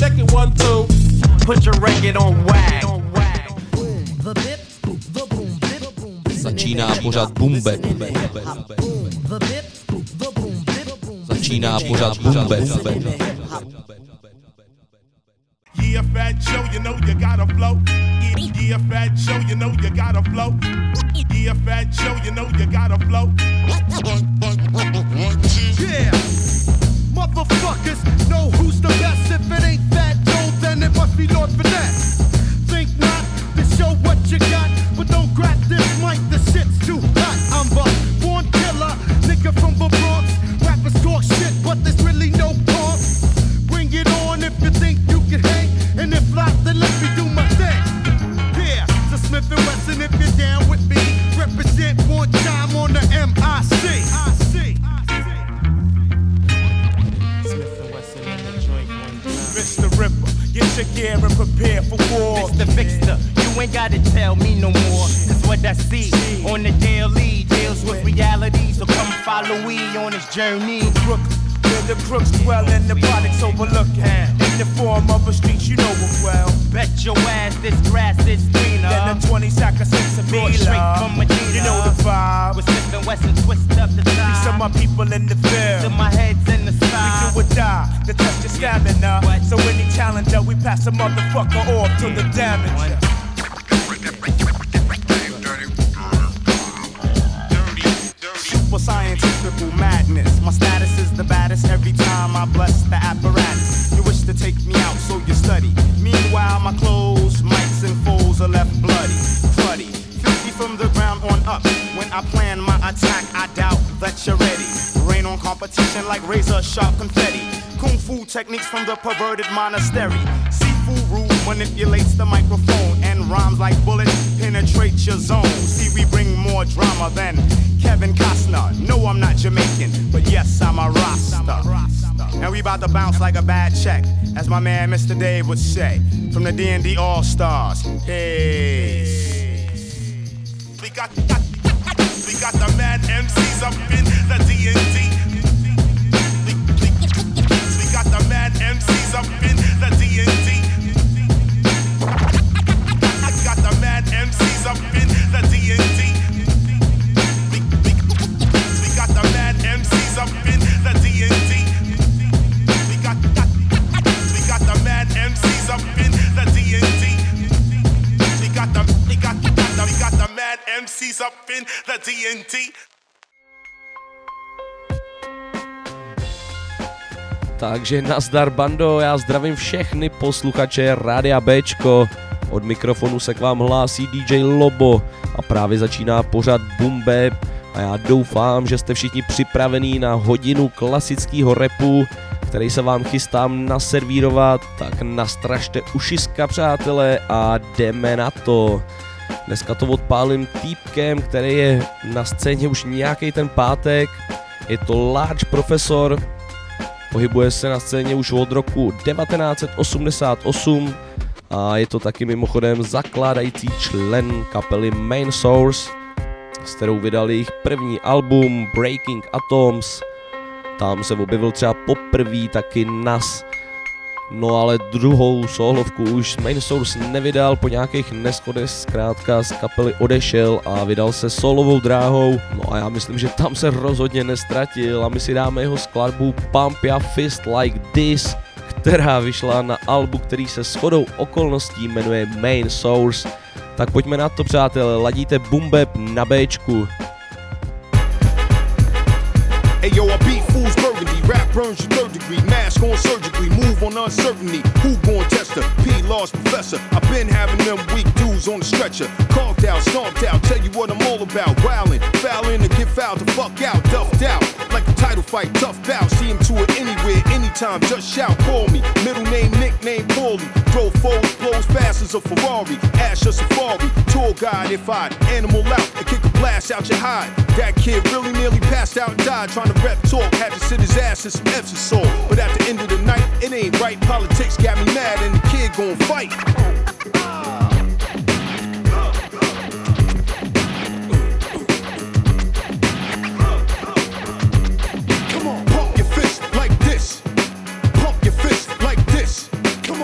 check it 1, 2. Put your record on wag. Začíná pořad Bumbe. Začíná pořad Bumbe. Yeah, Fat Joe, you know you gotta flow. Yeah, Fat Joe, you know you gotta flow. Yeah, Fat Joe, you know you gotta flow. Yeah, motherfuckers know who's the best. If it ain't Fat Joe, then it must be Lord Finesse. Think not to show what you got, but don't grab this mic, the shit's too hot. I'm a born killer, nigga from the Bronx. Rappers talk shit, but there's really no pump. Bring it on if you think you can hang, and if not, then let me do my thing. Yeah, so Smith & Wesson, if you're down with me, represent one time on the MIC. Mr. Ripper, get your gear and prepare for war. Mr. Fixer, you ain't gotta tell me no more. Cause what I see on the daily deals with reality. So come follow me on this journey. Brooklyn, where the crooks dwell and the products overlooking. In the form of a street, you know it well. Bet your ass this grass is greener Then the 20 sack of six of Brought straight from Medina. You know the vibe. With Smith & Wesson twist up the These are time. my people in the field. Till my head's in the We sky. do or die, to test your stamina. So any challenger, we pass a motherfucker off till the damage. Super scientific madness. My status is the baddest every time I bless the apparatus. You wish to take me out, so you study. Meanwhile, my clothes, mics, and foes are left bloody, cruddy. 50 from the ground on up. When I plan my attack, I doubt that you're ready. Rain on competition like razor sharp confetti. Kung fu techniques from the perverted monastery. Sifu Ru manipulates the microphone, and rhymes like bullets penetrate your zone. See, we bring more drama than Kevin Costner. No, I'm not Jamaican, but yes, I'm a Rasta. And we about to bounce like a bad check, as my man Mr. Dave would say, from the D&D All-Stars. Hey. We got the mad MCs up in the D&D. We got the mad MCs up in the D&D. I got the mad MCs up in the D&D. We got the mad MCs up in the D&D. We got the mad MCs up in the D&D. We got the mad MCs up in the D&D. Takže nazdar bando, já zdravím všechny posluchače Rádia Bčko. Od mikrofonu se k vám hlásí DJ Lobo a právě začíná pořad Bumbe a já doufám, že jste všichni připravení na hodinu klasického rapu, který se vám chystám naservírovat, tak nastražte ušiska, přátelé, a jdeme na to. Dneska to odpálím týpkem, který je na scéně už nějaký ten pátek. Je to Large Professor, pohybuje se na scéně už od roku 1988 a je to taky mimochodem zakládající člen kapely Main Source, s kterou vydali jejich první album Breaking Atoms. Tam se objevil třeba poprvé taky Nas. No ale druhou solovku už Main Source nevydal, po nějakých neschodech zkrátka z kapely odešel a vydal se solovou dráhou. No a já myslím, že tam se rozhodně nestratil a my si dáme jeho skladbu Pump Your Fist Like This, která vyšla na albu, který se shodou okolností jmenuje Main Source. Tak pojďme na to, přátelé, ladíte Bumbeb na Bčku. Hey yo, I beat fools burgundy, rap burns your third degree, mask on surgically, move on uncertainty, who gon' test her, P. Lost professor, I've been having them weak dudes on the stretcher, carved out, stomped out, tell you what I'm all about, wildin', fouling to get fouled the fuck out, duffed out, like a title fight, tough bout, see him to it anywhere, anytime, just shout, call me, middle name, nickname, Paulie, throw foes, blows fast as a Ferrari, Ash a Safari, tour guide if I'd animal out, and kick a blast out your hide, that kid really nearly passed out and died, trying to rep talk, had to sit his ass in some Epsom salt. But at the end of the night, it ain't right. Politics got me mad and the kid gon' fight. Come on, pump your fist like this. Pump your fist like this. Come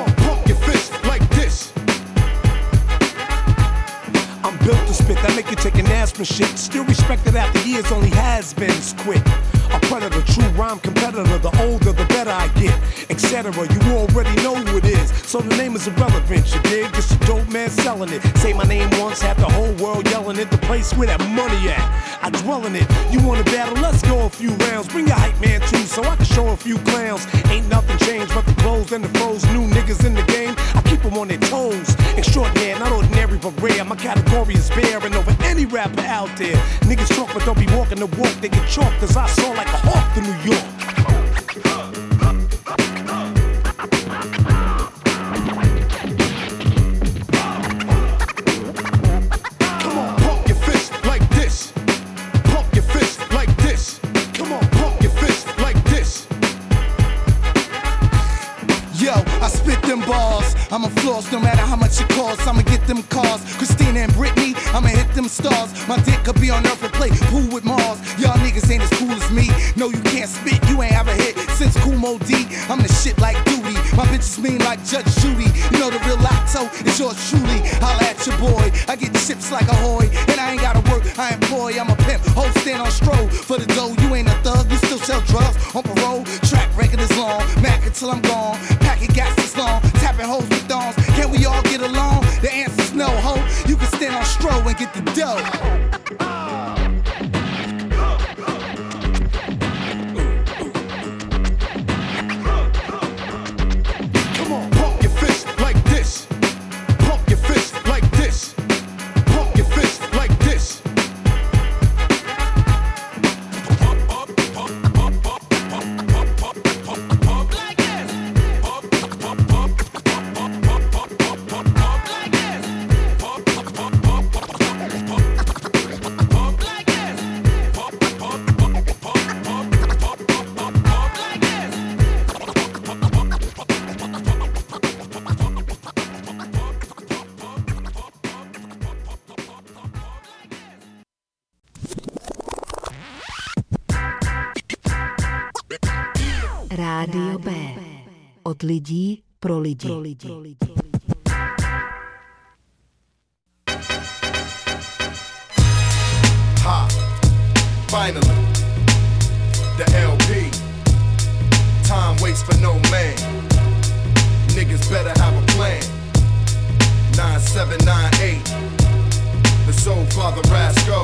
craftsmanship, still respected after years, only has-beens quit. A predator, true rhyme competitor, the older the better I get, etc. You already know who it is, so the name is irrelevant, you dig? Just a dope man selling it. Say my name once, have the whole world yelling it. The place where that money at, I dwell in it. You wanna battle? Let's go a few rounds. Bring your hype man too, so I can show a few clowns. Ain't nothing changed but the clothes and the froze. New niggas in the game, I keep them on their toes. Extraordinary, not ordinary but rare. My category is bearing over any rapper out there. Niggas talk but don't be walking the walk. They get chalked cause I saw like a hawk to New York. Come on, pump your fist like this. Pump your fist like this. Come on, pump your fist like this. Yo, I spit them balls. I'ma floss no matter how much it costs. I'ma get them cars. Christina and Britney, I'ma hit them stars. My dick could be on Earth and play pool with Mars. Y'all niggas ain't as cool as me. No, you can't spit. You ain't ever hit since Kumo D. I'm the shit like Duty. My bitches mean like Judge Judy. You know the real Lotto is yours truly. Holla at your boy. I get chips like a hoy. And I ain't gotta work, I employ. I'm a pimp. Whole stand on stroll. For the dough, you ain't a thug. You still sell drugs on parole. Track record is long. Mac until I'm gone. Packing gas is long. Tapping hoes with thongs. Can we all get along? The answer's no, ho. You can stand on stroll and get the dough. Come on, pump your fist like this. Pump your fist like this. Pump your fist like this. Rádio B. Od lidí pro lidi. Ha! Finally, the LP. Time waits for no man. Niggas better have a plan. 9798. The Soul Father Rasco.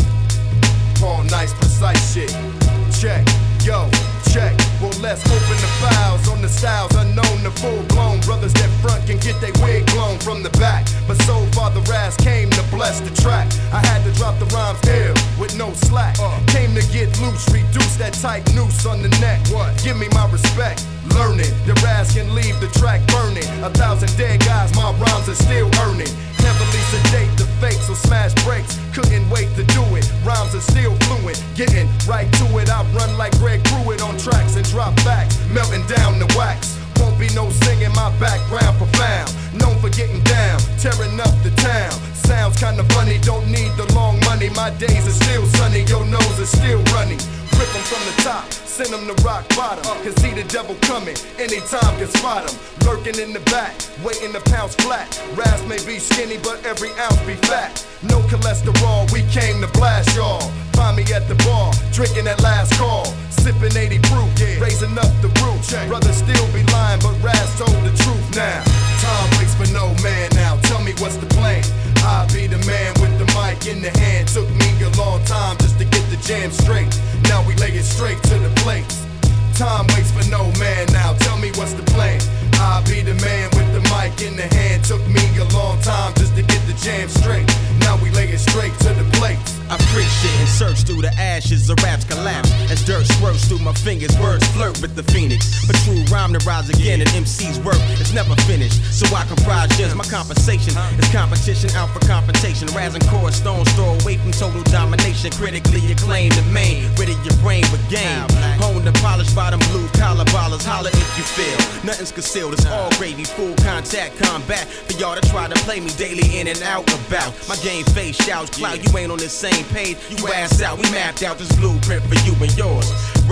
Paul Nice, precise shit. Check, yo, check. Well, let's open the files on the styles unknown to full-blown brothers that front can get their wig blown from the back. But Soul Father Ras came to bless the track. I had to drop the rhymes ill with no slack. Came to get loose, reduce that tight noose on the neck. What? Give me my respect. Learn it. The Ras can leave the track burning. 1,000 dead guys, my rhymes are still earning. Heavily sedate the fake, so smash breaks. Couldn't wait to do it. Rhymes are still fluent. Getting right to it. I run like Greg Pruitt on tracks and drop back, melting down the wax. Won't be no singing, my background profound. Known for getting down, tearing up the town. Sounds kinda funny, don't need the long money. My days are still sunny, your nose is still running. Rip them from the top, send them to rock bottom. Can see the devil coming, anytime can spot him. Lurking in the back, waiting to pounce flat. Ras may be skinny, but every ounce be fat. No cholesterol, we came to blast y'all. Find me at the bar, drinking that last call. Sipping 80 proof, raising up the roof. Brothers still be lying, but Ras told the truth now. Time waits for no man now, tell me what's the plan. I'll be the man with the mic in the hand. Took me a long time just to get the jam straight. Now we lay it straight to the plates. Time waits for no man now, tell me what's the plan. I'll be the man with the mic in the hand. Took me a long time just to get the jam straight. Now we lay it straight to the plates. I freak shit and search through the ashes of raps collapse. As dirt swirls through my fingers, words flirt with the phoenix. But true rhyme to rise again, and MC's work is never finished. So I comprise just my compensation. It's competition out for confrontation. Raz and chorus stones throw away from total domination. Critically acclaimed the main, rid of your brain with game. Honed and polished by them blue collar ballers. Holler if you feel. Nothing's concealed, it's all gravy, full contact combat. For y'all to try to play me daily in and out about. My game face shouts clout, you ain't on the same page, you ass out. We mapped out this blueprint for you and yours.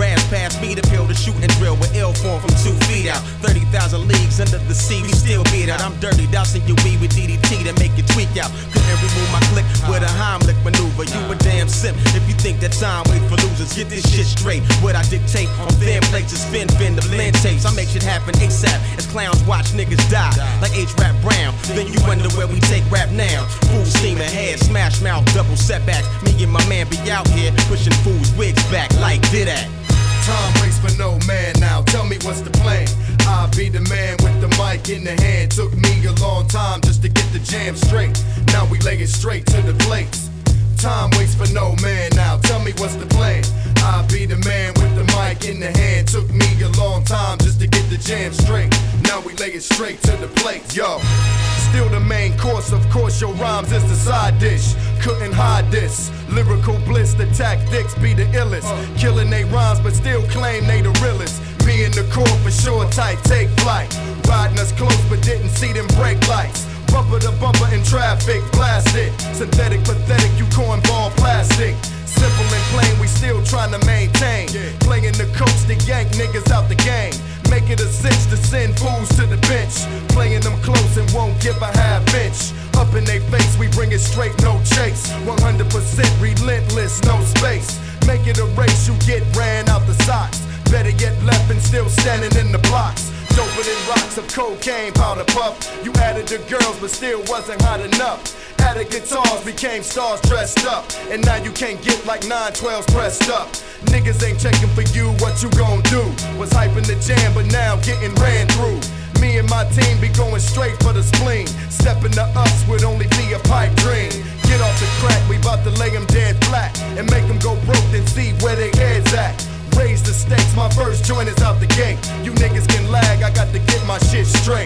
Rams past me to peel the shoot and drill with ill form from 2 feet out. 30,000 leagues under the sea, we still beat out. I'm dirty, dousing your weed with DDT to make you tweak out. Couldn't remove my click with a Heimlich maneuver. You a damn simp if you think that time wait for losers. Get this shit straight. What I dictate on thin plates is spin the blend tapes. I make shit happen ASAP as clowns watch niggas die like H-Rap Brown. Then you wonder where we take rap now. Full steam ahead, smash mouth, double setbacks. Me and my man be out here pushing fools wigs back like did that. Time waits for no man now, tell me what's the plan. I'll be the man with the mic in the hand. Took me a long time just to get the jam straight. Now we lay it straight to the plates. Time waits for no man now, tell me what's the plan. I'll be the man with the mic in the hand. Took me a long time just to get the jam straight. Now we lay it straight to the plate, yo. Still the main course, of course your rhymes is the side dish. Couldn't hide this, lyrical bliss, the tactics be the illest. Killing they rhymes but still claim they the realest. Me in the core for sure, tight, take flight. Riding us close but didn't see them brake lights. Bumper to bumper in traffic, blast it. Synthetic, pathetic, you cornball plastic. Simple and plain, we still trying to maintain. Playing the coach to yank niggas out the game. Make it a cinch to send fools to the bench. Playing them close and won't give a half inch. Up in they face, we bring it straight, no chase. 100% relentless, no space. Make it a race, you get ran out the socks. Better yet left and still standing in the blocks. Doper than rocks of cocaine, powder puff. You added the girls but still wasn't hot enough. Added guitars, became stars dressed up. And now you can't get like 912s pressed up. Niggas ain't checking for you, what you gon' do? Was hyping the jam but now getting ran through. Me and my team be going straight for the spleen. Stepping to us would only be a pipe dream. Get off the crack, we bout to lay them dead flat. And make them go broke then see where they heads at. Raise the stakes, my first joint is out the gate. You niggas can lag, I got to get my shit straight.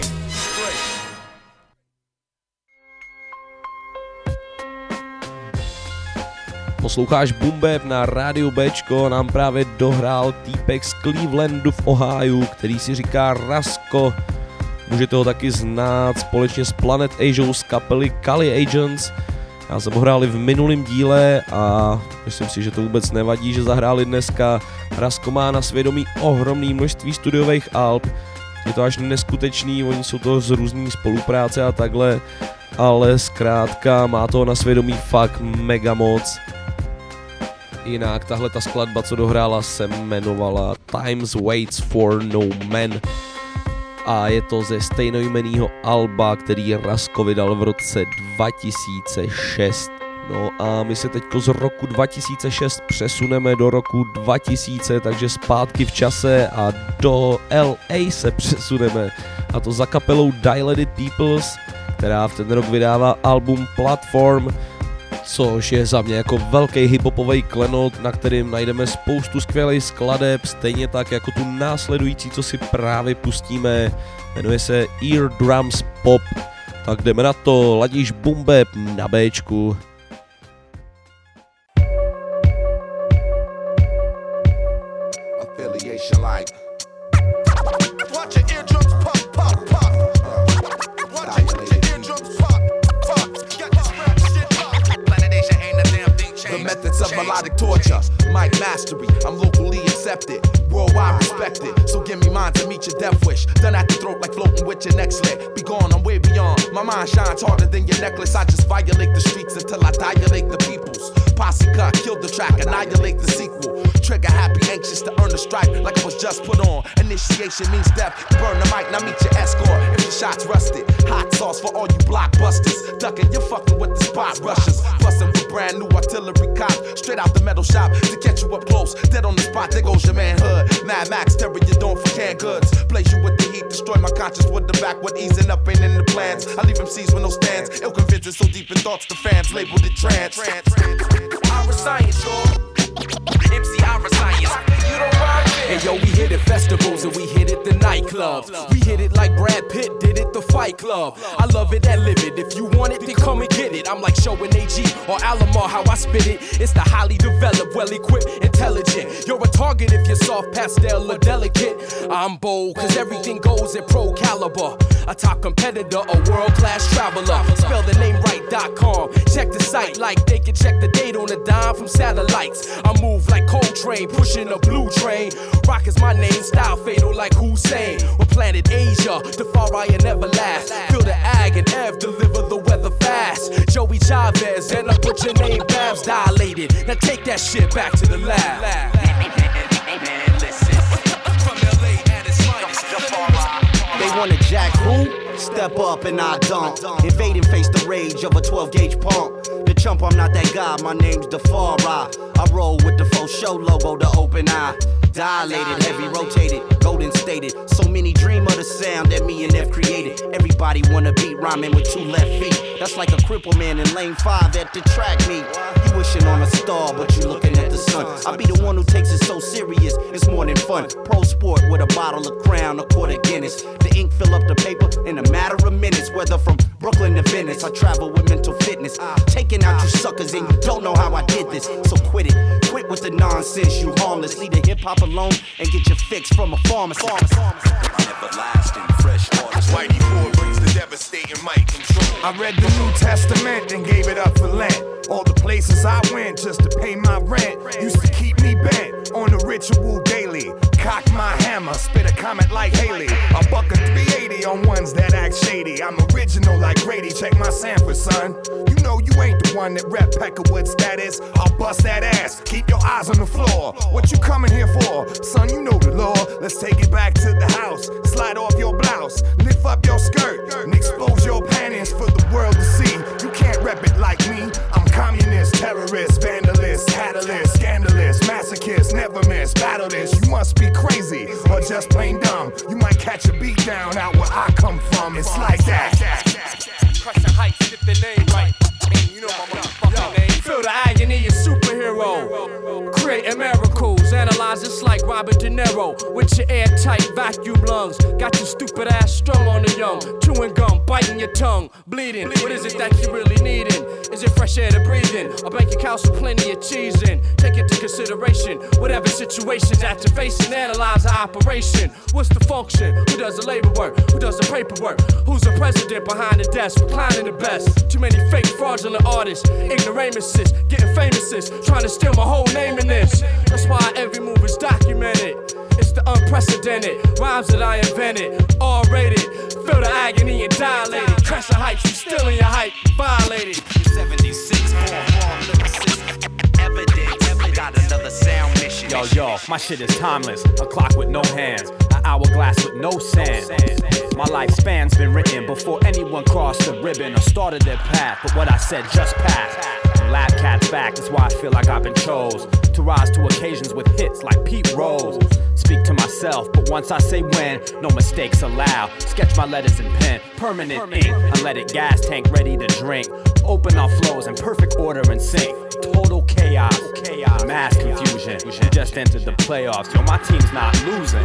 Posloucháš Boom Bap na rádiu Bčko, nám právě dohrál týpek z Clevelandu v Ohiu, který si říká Rasko. Můžete ho taky znát společně s Planet Asiou z kapely Kali Agents. Já jsem ho hráli v minulém díle a myslím si, že to vůbec nevadí, že zahráli dneska. Rasko má na svědomí ohromné množství studiových alb. Je to až neskutečný, oni jsou to z různý spolupráce a takhle, ale zkrátka má to na svědomí fakt mega moc. Jinak tahle ta skladba, co dohrála, se jmenovala Times Waits for No Man a je to ze stejnojmenného alba, který Rasko vydal v roce 2006. No a my se teďko z roku 2006 přesuneme do roku 2000, takže zpátky v čase a do LA se přesuneme, a to za kapelou Dilated Peoples, která v ten rok vydává album Platform, což je za mě jako velký hiphopový klenot, na kterým najdeme spoustu skvělých skladeb, stejně tak jako tu následující, co si právě pustíme, jmenuje se Eardrums Pop. Tak jdeme na to, ladíš Boom Bap na Bčku. Affiliation like methods of melodic torture, mic mastery, I'm locally accepted, worldwide respected, so give me mine to meet your death wish, done at the throat like floating with your neck slit, be gone, I'm way beyond, my mind shines harder than your necklace, I just violate the streets until I dilate the peoples, posse cut, kill the track, annihilate the sequel, trigger happy, anxious to earn a stripe, like it was just put on, initiation means death, burn the mic, now meet your escort, if your shot's rusted, hot sauce for all you blockbusters, ducking, you're fucking with the spot rushers, busting with brand new artillery cop, straight out the metal shop to catch you up close. Dead on the spot, there goes your manhood. Mad Max, terror you don't for canned goods. Blaze you with the heat, destroy my conscience with the backward easing up ain't in the plans. I leave MCs with no stands. Ill convinced so deep in thoughts, the fans labeled it trance. Ira Science, y'all. MC Ira Science. You don't rhyme it. Hey yo, we hit it festivals and we hit it the nightclubs. We hit it like Brad Pitt did it the Fight club. I love it and live it. If you want it, then come and get it. I'm like showing AG or Alomar how I spit it. It's the highly developed, well-equipped, intelligent. You're a target if you're soft, pastel, or delicate. I'm bold, cause everything goes in pro caliber. A top competitor, a world-class traveler. Spell the name right.com. Check the site like they can check the date on a dime from satellites. I move like Coltrane, pushing a blue train. Rock is my name, style fatal like Hussein. We're planet Asia, the far right never last. Feel the ag and Ev, deliver the weather fast. Joey Chavez, and I put your name Babs dilated. Now take that shit back to the lab. They wanna jack who? Step up and I don't. Invade and face the rage of a 12-gauge pump. The chump, I'm not that guy, my name's Defara. I roll with the faux show logo, the open eye. Dilated, heavy rotated, golden stated. So many dream of the sound that me and F created. Everybody wanna beat rhyming with 2 left feet. That's like a cripple man in lane 5 at the track meet. You wishing on a star, but you looking at the sun. I be the one who takes it so serious, it's more than fun. Pro sport with a bottle of Crown, a quart of Guinness. The ink fill up the paper in a matter of minutes. Whether from Brooklyn to Venice, I travel with mental fitness. Taking out you suckers and you don't know how I did this. So quit it, quit with the nonsense, you harmless. Leave the hip hop alone and get your fix from a pharmacist. Everlasting, fresh artist. Whitey Ford brings the devastating mic control. I read the New Testament and gave it up for Lent. All the places I went just to pay my rent used to keep me bent on the ritual daily. Cock my hammer, spit a comment like Haley. A buck of 380 on ones that act shady. I'm original like Grady, check my sample, son. You know you ain't the one that rep Peckerwood status. I'll bust that ass, keep your eyes on the floor. What you coming here for? Son, you know the law. Let's take it back to the house. Slide off your blouse, lift up your skirt, and expose your panties for the world to see. You can't rep it like me. I'm communist, terrorist, vandalist, catalyst, scandalous, masochist, never miss, battle this. You must be crazy or just plain dumb. You might catch a beat down out where I come from. It's like that. Crushing heights, get the name right. You know my motherfucking name. Feel the agony of superhero. Creating miracles, analyze this like Robert De Niro. With your airtight vacuum lungs. Got your stupid ass strung on the young. Chewing gum, biting your tongue, bleeding. What is it that you really needing? Is it fresh air to breathe in? Or bank accounts with plenty of cheese in? Take into consideration whatever situations that you're facing. Analyze the operation. What's the function? Who does the labor work? Who does the paperwork? Who's the president behind the desk? Reclining the best. Too many fake fraudulent artists, ignoramuses, getting famouses, trying to steal my whole name in this. That's why every move is documented. It's the unprecedented rhymes that I invented. R-rated, feel the agony and dilated. Crash the heights, you still in your hype, violated. 76, evidence, got another sound mission. Yo, my shit is timeless. A clock with no hands, an hourglass with no sand. My lifespan's been written before anyone crossed the ribbon or started their path. But what I said just passed. Lab cat's back, that's why I feel like I've been chose to rise to occasions with hits like Pete Rose. Speak to myself, but once I say when, no mistakes allowed. Sketch my letters in pen, permanent ink, unleaded gas tank ready to drink. Open our flows in perfect order and sync. Total chaos, mass confusion. We just entered the playoffs, yo, my team's not losing.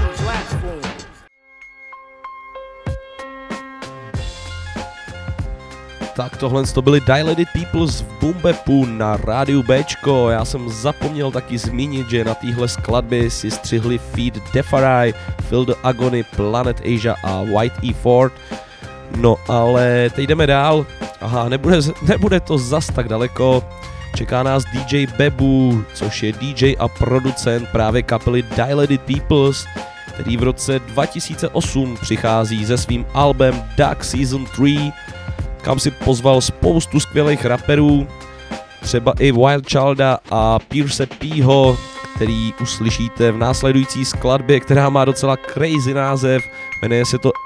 Tak tohle to byli Dilated Peoples v Boom Bapu na rádiu Bčko. Já jsem zapomněl taky zmínit, že na téhle skladbě si střihli feat Defarai, Feel the Agony, Planet Asia a White E. Ford. No ale teď jdeme dál. Aha, nebude to zas tak daleko. Čeká nás DJ Bebu, což je DJ a producent právě kapely Dilated Peoples, který v roce 2008 přichází se svým albem Dark Season 3, kam si pozval spoustu skvělých raperů, třeba i Wild Childa a Pierce Pho, který uslyšíte v následující skladbě, která má docela crazy název, jmenuje se to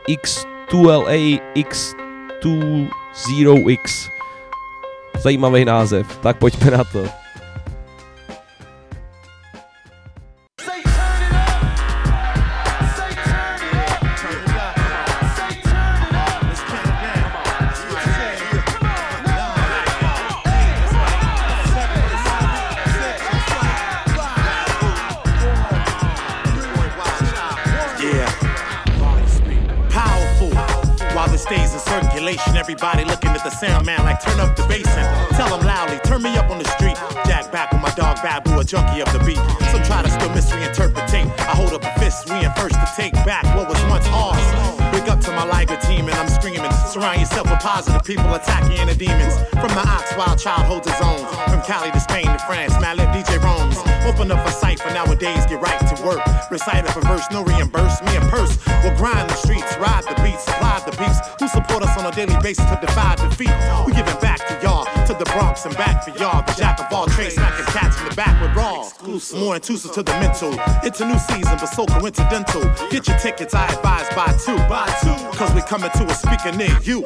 SBX2LAX20X. Zajímavý název, tak pojďme na to. stays in circulation. Everybody looking at the sound man like turn up the bass and tell them loudly, turn me up on the street. Jack back with my dog Babu, a junkie of the beat. Some try to still misreinterpretate. I hold up a fist, we ain't first to take back what was once ours. Big up to my Liger team and I'm screaming. Surround yourself with positive people attacking inner demons. From the Ox, wild child holds his own. From Cali to Spain to France, Mad Lib DJ roams. Open up a site for nowadays, get right to work. Recite a verse, no reimburse. Me and Purse will grind the streets, ride the beats, supply the beats. Who support us on a daily basis to defy defeat? We giving back to y'all, to the Bronx and back for y'all. The jack of all trades, smacking cats in the back with raw. More intrusive to the mental. It's a new season, but so coincidental. Get your tickets, I advise buy two. Cause we coming to a speaker near you.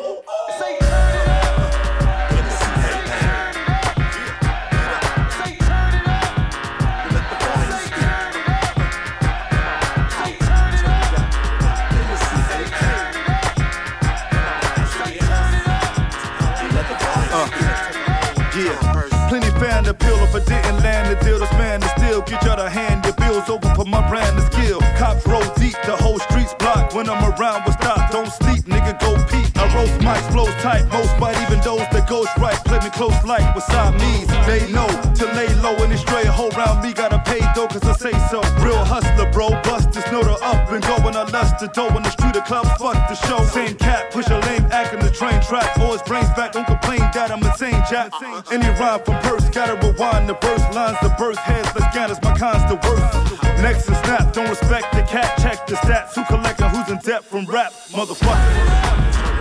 Plenty fan appeal if I didn't land the deal. This man to still get y'all to hand your bills over for my brand of skill. Cops roll deep, the whole street's blocked. When I'm around, we stop, don't sleep, nigga, go peep. I roast mics, flows tight, most bite, even those that goes right. Play me close like what side means. They know to lay low in the straight whole round me. Gotta pay though, cause I say so. Real hustler, bro, busters know the up and going. I lust the dough in the street, the club, fuck the show. Same cat, push a lame act in the train track. Always brains back, don't complain that I'm insane, Jack. Any rhyme from Purse, gotta rewind the verse lines, the birth heads, the scanners, my kind's the worst. Next is snap, don't respect the cat, check the stats. Who collecting, who's in debt from rap, motherfucker.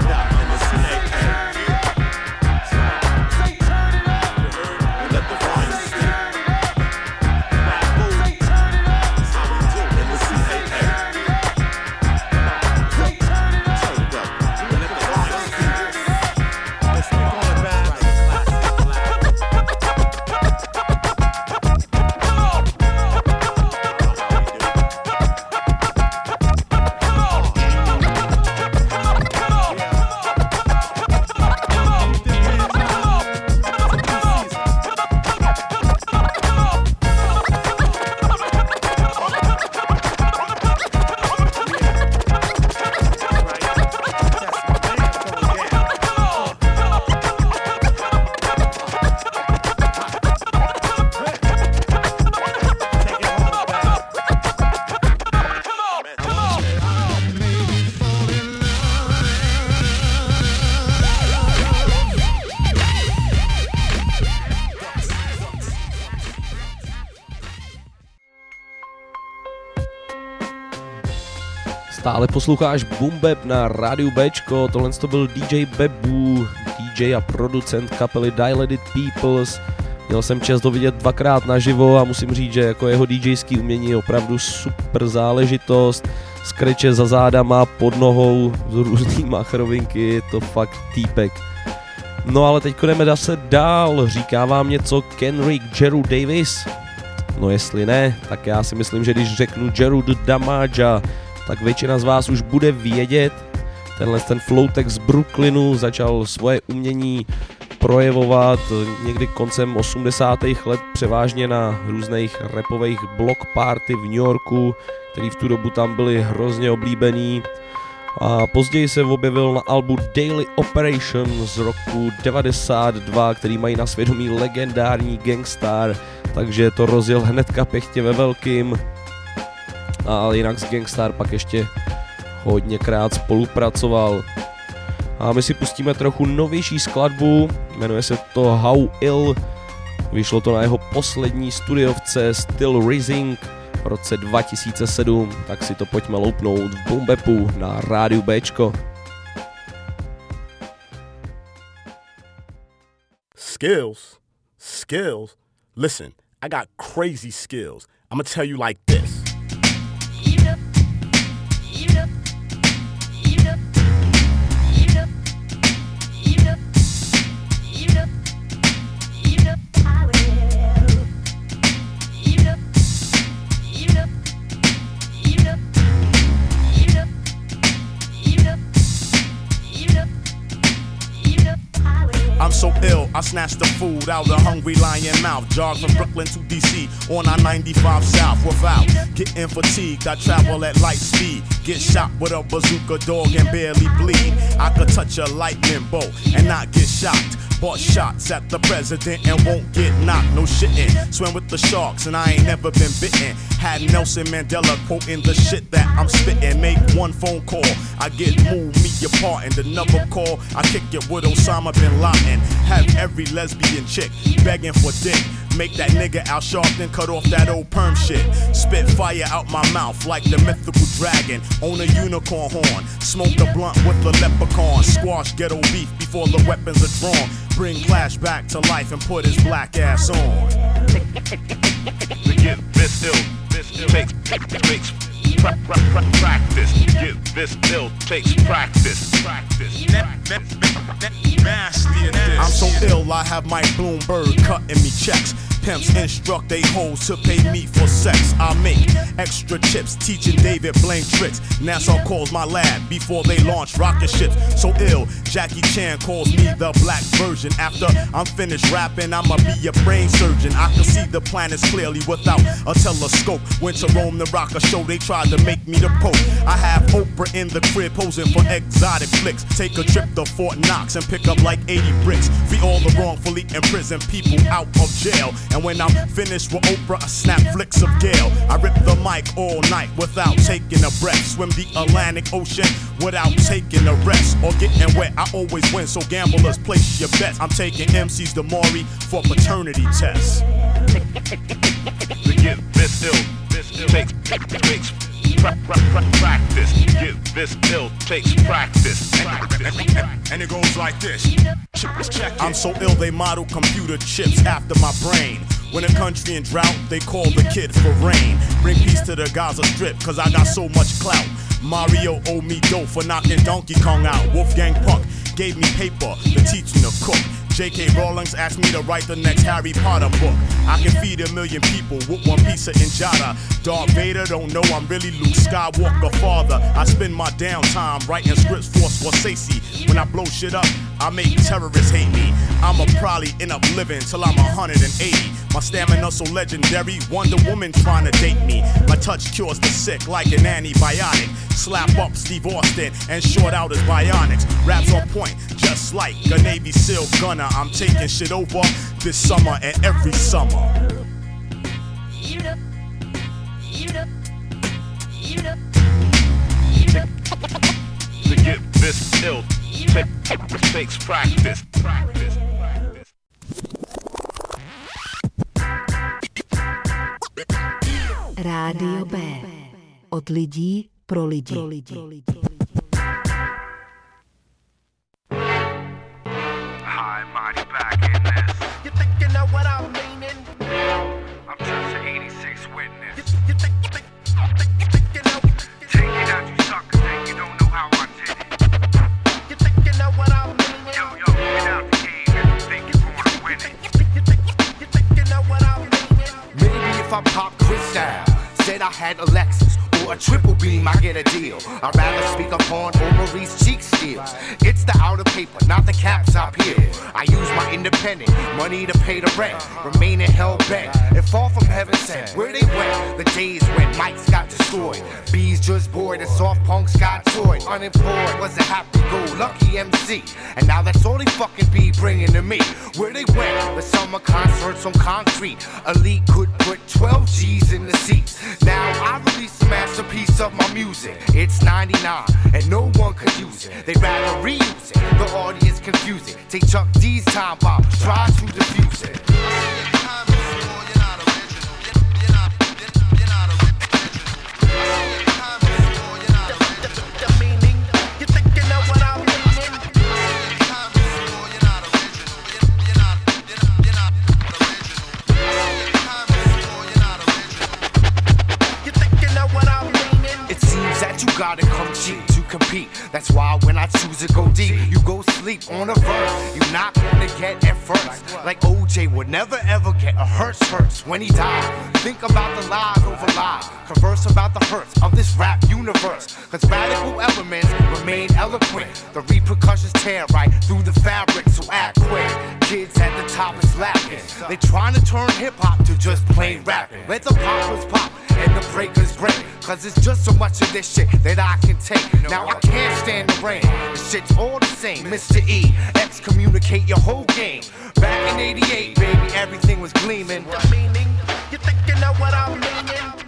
Stále posloucháš Boom Bap na rádiu Bčko, tohle to byl DJ Bebu, DJ a producent kapely Dilated Peoples. Měl jsem čest ho vidět dvakrát naživo a musím říct, že jako jeho DJský umění je opravdu super záležitost. Skreče za zádama, pod nohou, z různý machrovinky, je to fakt týpek. No ale teď jdeme zase dál, říká vám něco Kenrick Jeru Davis? No jestli ne, tak já si myslím, že když řeknu Jeru Damaja, tak většina z vás už bude vědět. Ten Flowtek z Brooklynu začal svoje umění projevovat někdy koncem 80. let převážně na různých rapových block party v New Yorku, který v tu dobu tam byly hrozně oblíbený. A později se objevil na albu Daily Operation z roku 92, který mají na svědomí legendární Gang Starr, takže to rozjel hnedka pěkně ve velkým. A jinak s Gang Starr pak ještě hodněkrát spolupracoval. A my si pustíme trochu novější skladbu, jmenuje se to How Ill, vyšlo to na jeho poslední studiovce Still Rising v roce 2007, tak si to pojďme loupnout v Boom Bapu na rádiu Bčko. Skills? Listen, I got crazy skills. I'm gonna tell you like this. I'm so ill, I snatched the food out of hungry lion mouth. Jog from Brooklyn to DC on I-95 South without getting fatigued. I travel at light speed, Get shot with a bazooka dog and barely bleed. I could touch a lightning bolt and not get shocked. Bought shots at the president and won't get knocked. No shitting. Swim with the sharks and I ain't never been bitten. Had Nelson Mandela quoting the shit that I'm spitting. Make one phone call, I get moved, meet your part. And another call, I kick it with Osama bin Laden. Have every lesbian chick begging for dick. Make that nigga Al Sharpton cut off that old perm shit. Spit fire out my mouth like the mythical dragon. Own a unicorn horn. Smoke a blunt with the leprechaun. Squash ghetto beef before the weapons are drawn. Bring Flash back to life and put his black ass on. To get this ill, takes practice. Get this ill, takes practice. I'm so ill, I have Mike Bloomberg cutting me checks. Pimps instruct they hoes to pay me for sex. I make extra chips, teaching David Blaine tricks. NASA calls my lab before they launch rocket ships. So ill, Jackie Chan calls me the black version. After I'm finished rapping, I'ma be a brain surgeon. I can see the planets clearly without a telescope. Went to Rome to rock a show, they tried to make me the Pope. I have Oprah in the crib posing for exotic flicks. Take a trip to Fort Knox and pick up like 80 bricks. Free all the wrongfully imprisoned people out of jail. And when I'm finished with Oprah, I snap flicks of Gale. I rip the mic all night without taking a breath. Swim the Atlantic Ocean without taking a rest. Or getting wet, I always win, so gamblers place your bets. I'm taking MCs to Maury for paternity tests. To get this ill, takes practice. Get this ill, takes practice. And it goes like this. I'm so ill they model computer chips after my brain. When a country in drought, they call the kid for rain. Bring peace to the Gaza Strip, cause I got so much clout. Mario owe me dough for knocking Donkey Kong out. Wolfgang Puck gave me paper to teach me to cook. J.K. Rowling asked me to write the next Harry Potter book. I can feed 1 million people with one piece of injera. Darth Vader don't know I'm really Luke Skywalker father. I spend my downtime writing scripts for Scorsese. When I blow shit up, I make terrorists hate me. I'ma probably end up living till I'm 180. My stamina so legendary, Wonder Woman trying to date me. My touch cures the sick like an antibiotic. Slap up Steve Austin and short out his bionics. Raps on point, just like a Navy SEAL gunner. I'm taking shit over this summer and every summer. To get this ill, takes practice. Rádio B. Od lidí pro lidi. High mighty back in this. You think you know what I'm meaning? I'm just an 86 witness. You think you know? Take it out, you suckers, and you don't know how I did it. You think you know what I'm meaning? Yo, get out the game if you think you're gonna win it. You think you know what I'm meaning? Maybe if I pop Cristal, said I had a Lexus or a triple beam, I get a deal. I'd rather speak upon Maurice cheek steals. It's the outer paper, not the caps I peel. I use my independent money to pay the rent, remaining hell bent and far from heaven sent. Where they went, the days when mics got destroyed, bees just bored and soft punks got toyed. Unemployed was a happy-go-lucky MC, and now that's all they fucking be bringing to me. Where they went, the summer concerts on concrete. Elite could put 12 G's in the seats. Now I release a masterpiece of my music. It's 99 and no one could use it. They'd rather reuse it. The audience confusing. Take Chuck D's time bomb, try to defuse it. Gotta come cheap to compete. That's why when I choose to go deep, you go sleep on a verse. You're not gonna get at first. Like OJ would never ever get a hurts when he died. Think about the lies over lies. Converse about the hurts of this rap universe. Cause radical elements remain eloquent. The repercussions tear right through the fabric, so act quick. Kids at the top is laughing. They trying to turn hip-hop to just plain rapping. Let the poppers pop and the breakers break. Cause it's just so much of this shit that I can take. Now I can't stand the rain. The shit's all the same. Mr. E, excommunicate your whole game. Back in 88, baby, everything was gleaming. What meaning? You thinking of what I'm meaning?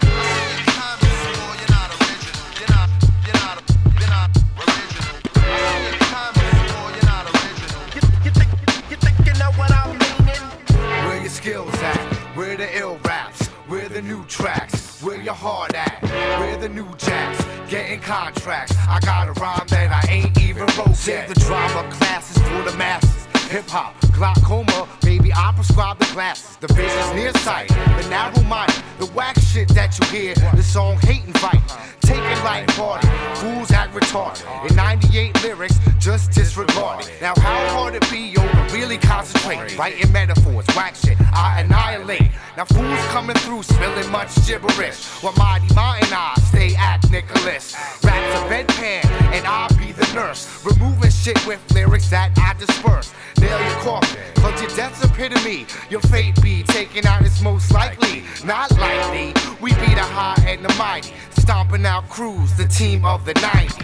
Where your skills at? Where the ill raps? Where the new tracks? Where your heart at? Where the new jacks? Getting contracts. I got a rhyme that I ain't even wrote. Save the drama classes for the masses. Hip hop, glaucoma, baby, I prescribe the glasses. The vision's nearsighted, the narrow-minded, the whack shit that you hear. The song hate and fight, take it light-hearted. Fools act retarded. In 98 lyrics, just disregarded. Now how hard it be, yo, to really concentrate? Writing metaphors, whack shit, I annihilate. Now fools coming through, spilling much gibberish. While Mighty Mountain I stay at Nicholas. Raps a bedpan, and I'll be the nurse. Removing shit with lyrics that I disperse. Nail your coffin, cause your death's epitome. Your fate be taken out is most likely. Not likely, we be the high and the mighty. Stomping out crews, the team of the 90s.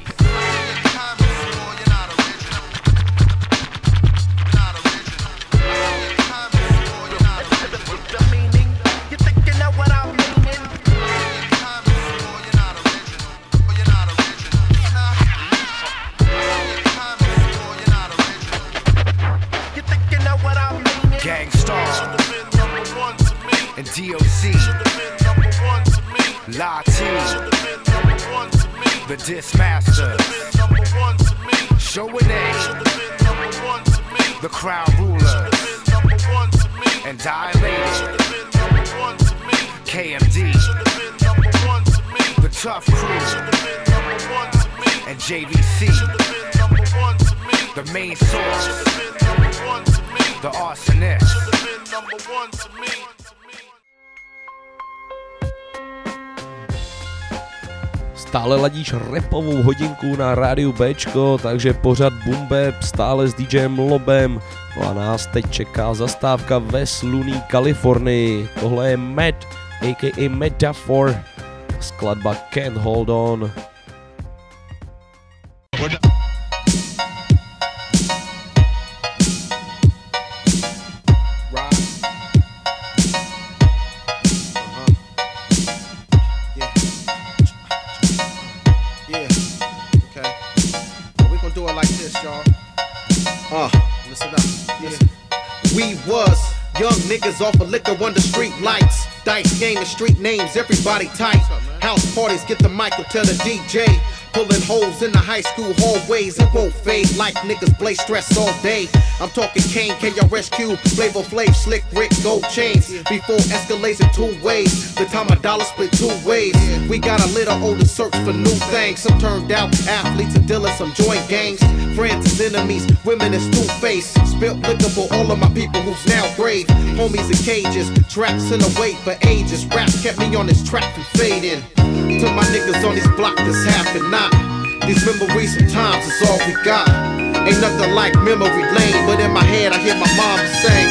And DOC, Latin, the Dismaster, Show and A, the Crown Ruler, and Dilated, KMD, the Tough Crew, and JVC, the Main Source, the Arsonist. Stále ladíš rapovou hodinku na rádiu Bčko, takže pořad Boom Bap stále s DJem Lobem. No a nás teď čeká zastávka ve slunný Kalifornii. Tohle je Matt, a.k.a. Metaphor, skladba Can't Hold On. Niggas off of liquor under street lights. Dice game and street names, everybody tight. House parties, get the mic or tell the DJ. Pulling holes in the high school hallways, it won't fade like niggas blaze stress all day. I'm talking Kane, KRSQ, Flavor Flav, Slick Rick, gold chains. Before escalates in 2 ways, the time a dollar split 2 ways. We got a little older search for new things. Some turned out athletes and dealers, some joint gangs. Friends is enemies, women is two-faced. Spilt liquor for all of my people who's now grave. Homies in cages, traps in the wait for ages. Rap kept me on this track from fading. To my niggas on this block that's half and not. These memories sometimes is all we got. Ain't nothing like memory lane, but in my head I hear my mom sing.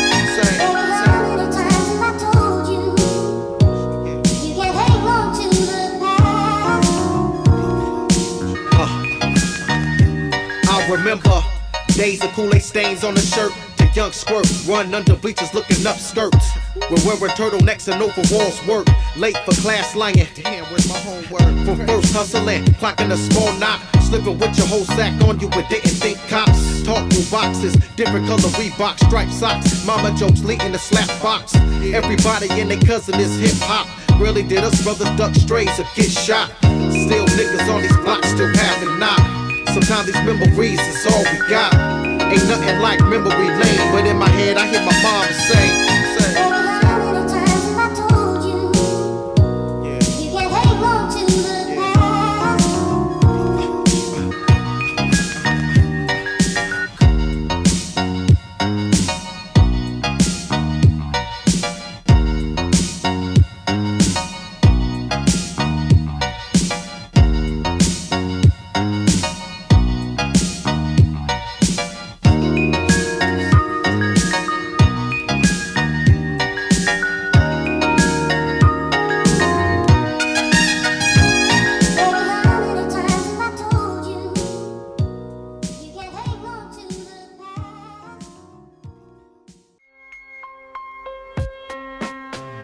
I remember days of Kool-Aid stains on the shirt. Young squirt, run under bleachers looking up skirts. We're wearing turtlenecks and overalls work. Late for class lying. Damn, where's my homework? From first hustling, clocking a small knot. Slipping with your whole sack on you but didn't think cops. Talk through boxes, different color Reebok striped socks. Mama jokes leading the slap box. Everybody and their cousin is hip hop. Really did us brothers duck strays or get shot. Still niggas on these blocks still having knock. Sometimes these memories is all we got. Ain't nothing like memory lane, but in my head I hear my mom say.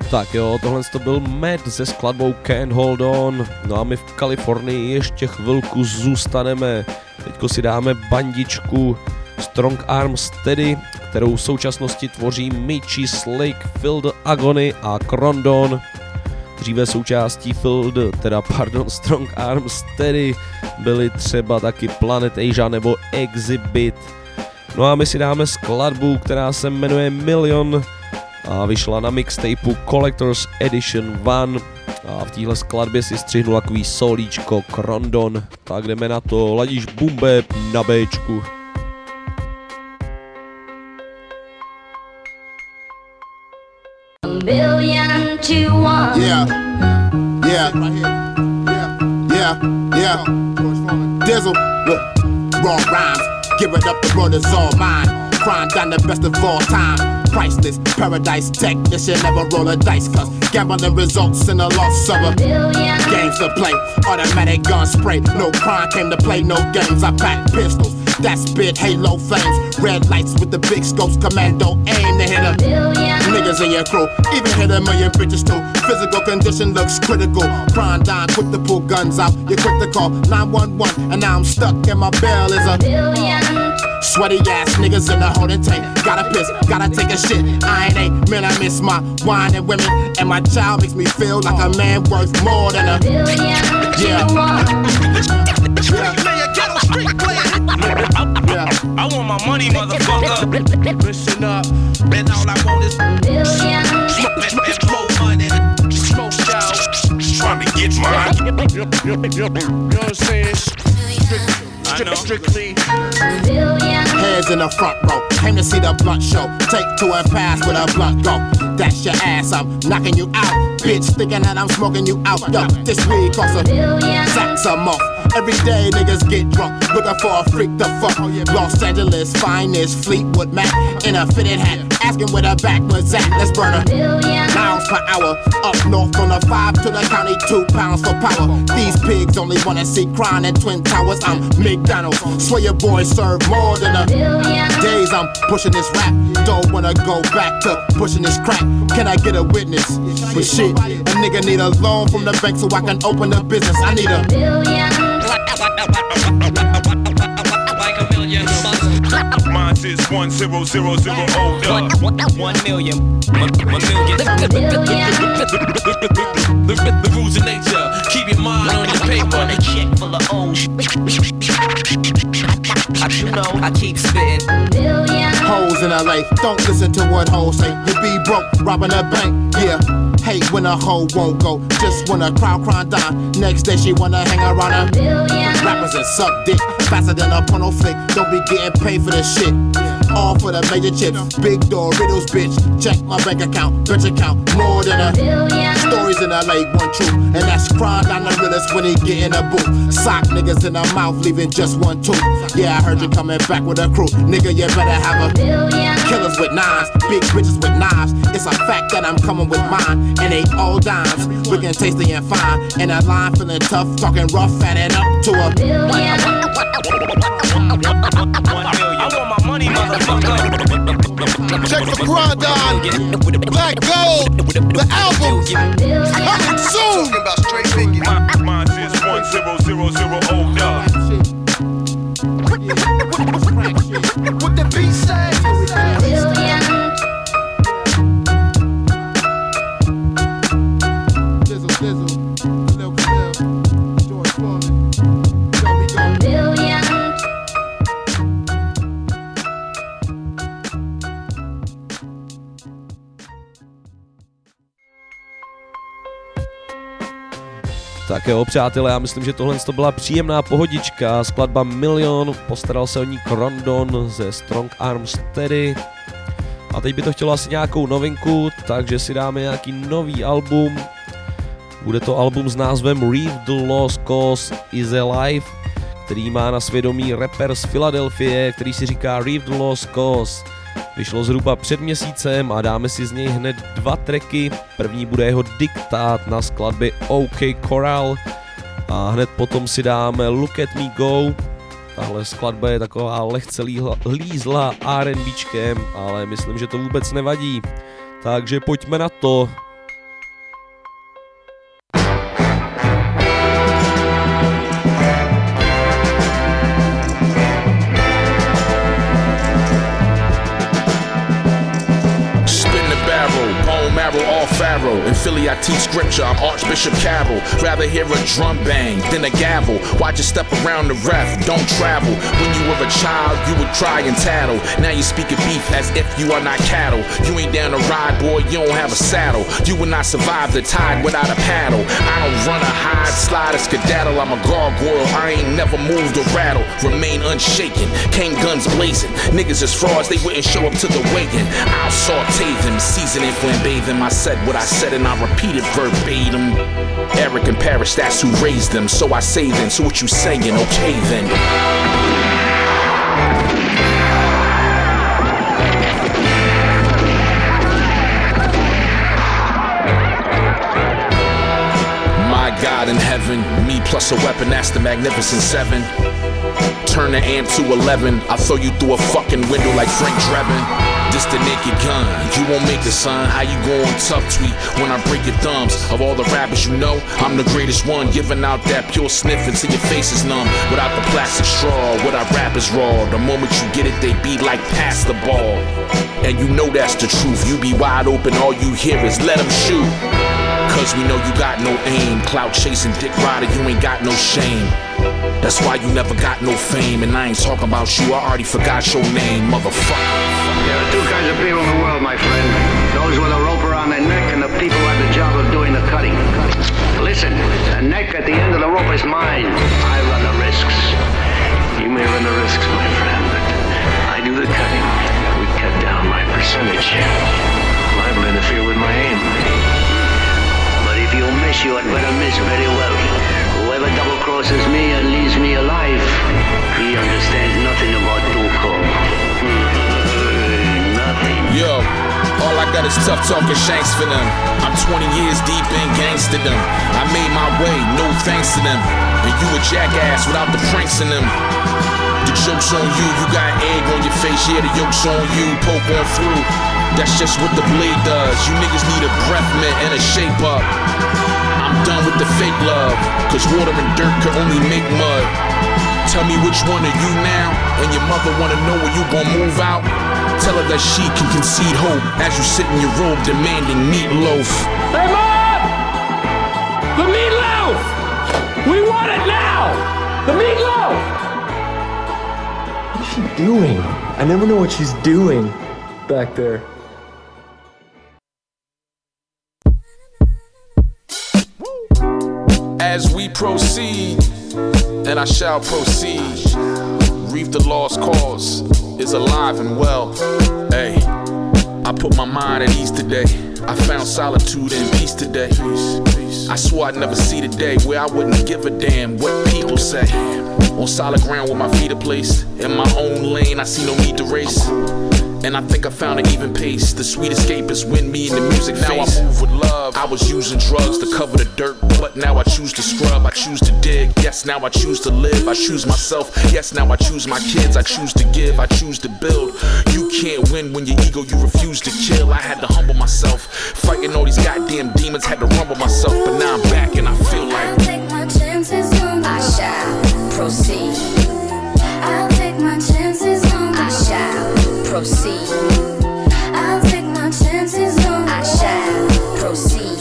Tak jo, tohle to byl Matt se skladbou Can't Hold On. No a my v Kalifornii ještě chvilku zůstaneme. Teďko si dáme bandičku Strong Arm Steady, kterou v současnosti tvoří Michi Slick, Phil the Agony a Crondon. Dříve součástí Strong Arm Steady byly třeba taky Planet Asia nebo Exhibit. No a my si dáme skladbu, která se jmenuje Million a vyšla na mixtapeu Collector's Edition 1 a v téhle skladbě si střihnu takový solíčko Crondon. Tak jdeme na to, ladíš Bumbe na Bčku. Billion to one. Yeah. Dizzle, look, raw rhymes, give it up, the world is all mine. Crime down the best of all time. Priceless, paradise technician, never roll a dice, cause gambling results in the loss of a billion. Games to play, automatic gun spray. No crime came to play, no games. I pack pistols that spit halo flames. Red lights with the big scopes, commando aim to hit a billion. Niggas in your crew, even hit a million bitches too. Physical condition looks critical. Crime dime, quick to pull guns out. You're quick to call 911, and now I'm stuck and my bail is a billion. Sweaty ass niggas in the holding tank. Gotta piss, gotta take a shit. I ain't a man, I miss my wine and women. And my child makes me feel like a man worth more than a billion. Yeah. I want my money, motherfucker. Listen up, and all I want is billion. Smoke money, smoke shout. Trying to get mine. You know what I'm saying? Strictly billion. Heads in the front row, came to see the blunt show. Take two and pass with a blunt go. That's your ass, I'm knocking you out. Bitch thinking that I'm smoking you out. Yo, this weed costs a billion. Sacks a month. Every day niggas get drunk, looking for a freak to fuck. Los Angeles finest Fleetwood Mac in a fitted hat, asking where the back was at. Let's burn a billion miles per hour. Up north on the 5 to the county, 2 pounds for power. These pigs only wanna see crime in Twin Towers. I'm McDonald's, swear your boys serve more than a billion. Days I'm pushing this rap, don't wanna go back to pushing this crack. Can I get a witness? But shit, a nigga need a loan from the bank so I can open a business. I need a billion. Like a million bucks. Mine is 1000 older. 1 million. 1 million. The rules of nature. Keep your mind on your paper. On a check full of old. You know I keep spitting. Hoes in LA, don't listen to what hoes say. You be broke, robbing a bank, yeah. Hate when a hoe won't go, just when a crowd crying down. Next day she wanna hang around a billion. Rappers and suck dick, faster than a porno flick. Don't be getting paid for this shit. All for the major chips, big Doritos, bitch. Check my bank account, bitch account, more than a billion. Stories in LA, one true, and that's crime down the realest when he get in a booth. Sock niggas in the mouth, leaving just one tooth. Yeah, I heard you coming back with a crew, nigga. You better have a billion. Killers with nines, big bitches with knives. It's a fact that I'm coming with mine, and they all dimes. Looking tasty and fine, and a line feeling tough, talking rough, fatting up to a billion. I want my money, motherfucker. Check the Crondon, Black Gold, the album coming soon. Talking about straight figures. Mine is 1000 older. What the beat say? Billion. Dizzle, Lil Quill, George Foreman, Joey Go. Billion. Tak jo, přátelé, já myslím, že tohle to byla příjemná pohodička, skladba Million, postaral se o ní Crondon ze Strong Arm Steady. A teď by to chtělo asi nějakou novinku, takže si dáme nějaký nový album. Bude to album s názvem Reef the Lost Cause is Alive, který má na svědomí rapper z Filadelfie, který si říká Reef the Lost Cause. Vyšlo zhruba před měsícem a dáme si z něj hned 2 tracky. První bude jeho diktát na skladbě OK Corral a hned potom si dáme Look at Me Go. Tahle skladba je taková lehce lízla R&Bčkem, ale myslím, že to vůbec nevadí. Takže pojďme na to. Sparrow. In Philly, I teach scripture, I'm Archbishop Carroll. Rather hear a drum bang than a gavel. Watch you step around the ref, don't travel. When you were a child, you would cry and tattle. Now you speak of beef as if you are not cattle. You ain't down to ride, boy, you don't have a saddle. You will not survive the tide without a paddle. I don't run or hide, slide or skedaddle. I'm a gargoyle, I ain't never moved or rattle. Remain unshaken, came guns blazing. Niggas as frauds, they wouldn't show up to the weigh-in. I'll saute them, season and flambe them. I said what I said and I repeated verbatim. Eric and Parrish, that's who raised them. So I say then, so what you saying, okay then. God in heaven, me plus a weapon, that's the Magnificent Seven. Turn the amp to 11, I'll throw you through a fucking window like Frank Drebin. This the naked gun, you won't make it, son. How you going tough tweet when I break your thumbs? Of all the rappers you know, I'm the greatest one. Giving out that pure sniff until your face is numb. Without the plastic straw, what I rap is raw. The moment you get it, they be like pass the ball. And you know that's the truth, you be wide open, all you hear is let them shoot. Cause we know you got no aim. Clout chasing dick rider, you ain't got no shame. That's why you never got no fame. And I ain't talking about you, I already forgot your name, motherfucker. There are two kinds of people in the world, my friend. Those with a rope around their neck and the people who have the job of doing the cutting. Listen, the neck at the end of the rope is mine. I run the risks. You may run the risks, my friend, but I do the cutting. We cut down my percentage. Liable to interfere with my aim. If you miss, you had better miss very well. Whoever double crosses me and leaves me alive, he understands nothing about Tuco. Nothing. Yo, all I got is tough talking shanks for them. I'm 20 years deep in gangsterdom. I made my way, no thanks to them. And you a jackass without the pranks in them. The joke's on you, you got egg on your face, yeah, the yoke's on you, poke on through. That's just what the blade does. You niggas need a breath mint and a shape up. I'm done with the fake love, cause water and dirt can only make mud. Tell me which one are you now, and your mother wanna know when you gon' move out. Tell her that she can concede hope as you sit in your robe demanding meatloaf. Hey Mom! The meatloaf! We want it now! The meatloaf! What's she doing? I never know what she's doing back there. As we proceed, and I shall proceed, reap the lost cause is alive and well. Hey, I put my mind at ease today. I found solitude and peace today. I swore I'd never see the day where I wouldn't give a damn what people say. On solid ground with my feet are placed, in my own lane I see no need to race. And I think I found an even pace. The sweet escape is when me and the music now face. I move with love. I was using drugs to cover the dirt, but now I choose to scrub, I choose to dig. Yes, now I choose to live, I choose myself. Yes, now I choose my kids, I choose to give, I choose to build. You can't win when your ego you refuse to kill. I had to humble myself. Fighting all these goddamn demons, had to rumble myself. But now I'm back and I feel like I'll take my chances on I shall proceed. I'll take my chances on I shall proceed. I'll take my chances on I shall proceed.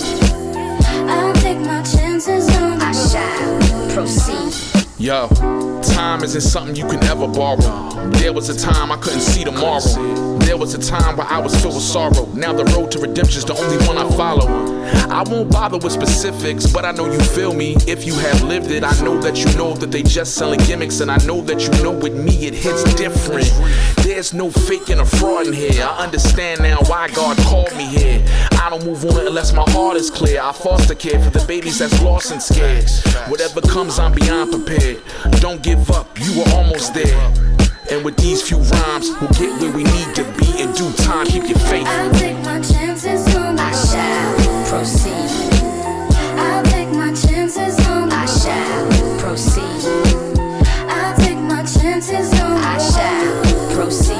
I'll take my chances on I shall proceed. Yo, time isn't something you can ever borrow. There was a time I couldn't see tomorrow. There was a time where I was filled with sorrow. Now the road to redemption's the only one I follow. I won't bother with specifics, but I know you feel me. If you have lived it, I know that you know that they just selling gimmicks. And I know that you know with me it hits different. There's no faking or fraud in here. I understand now why God called me here. I don't move on unless my heart is clear. I foster care for the babies that's lost and scared. Whatever comes, I'm beyond prepared. Don't give up, you are almost there. And with these few rhymes, we'll get where we need to be in due time. Keep your faith. I'll take my chances on I shall proceed. I'll take my chances on I shall proceed. I'll take my chances on I shall proceed.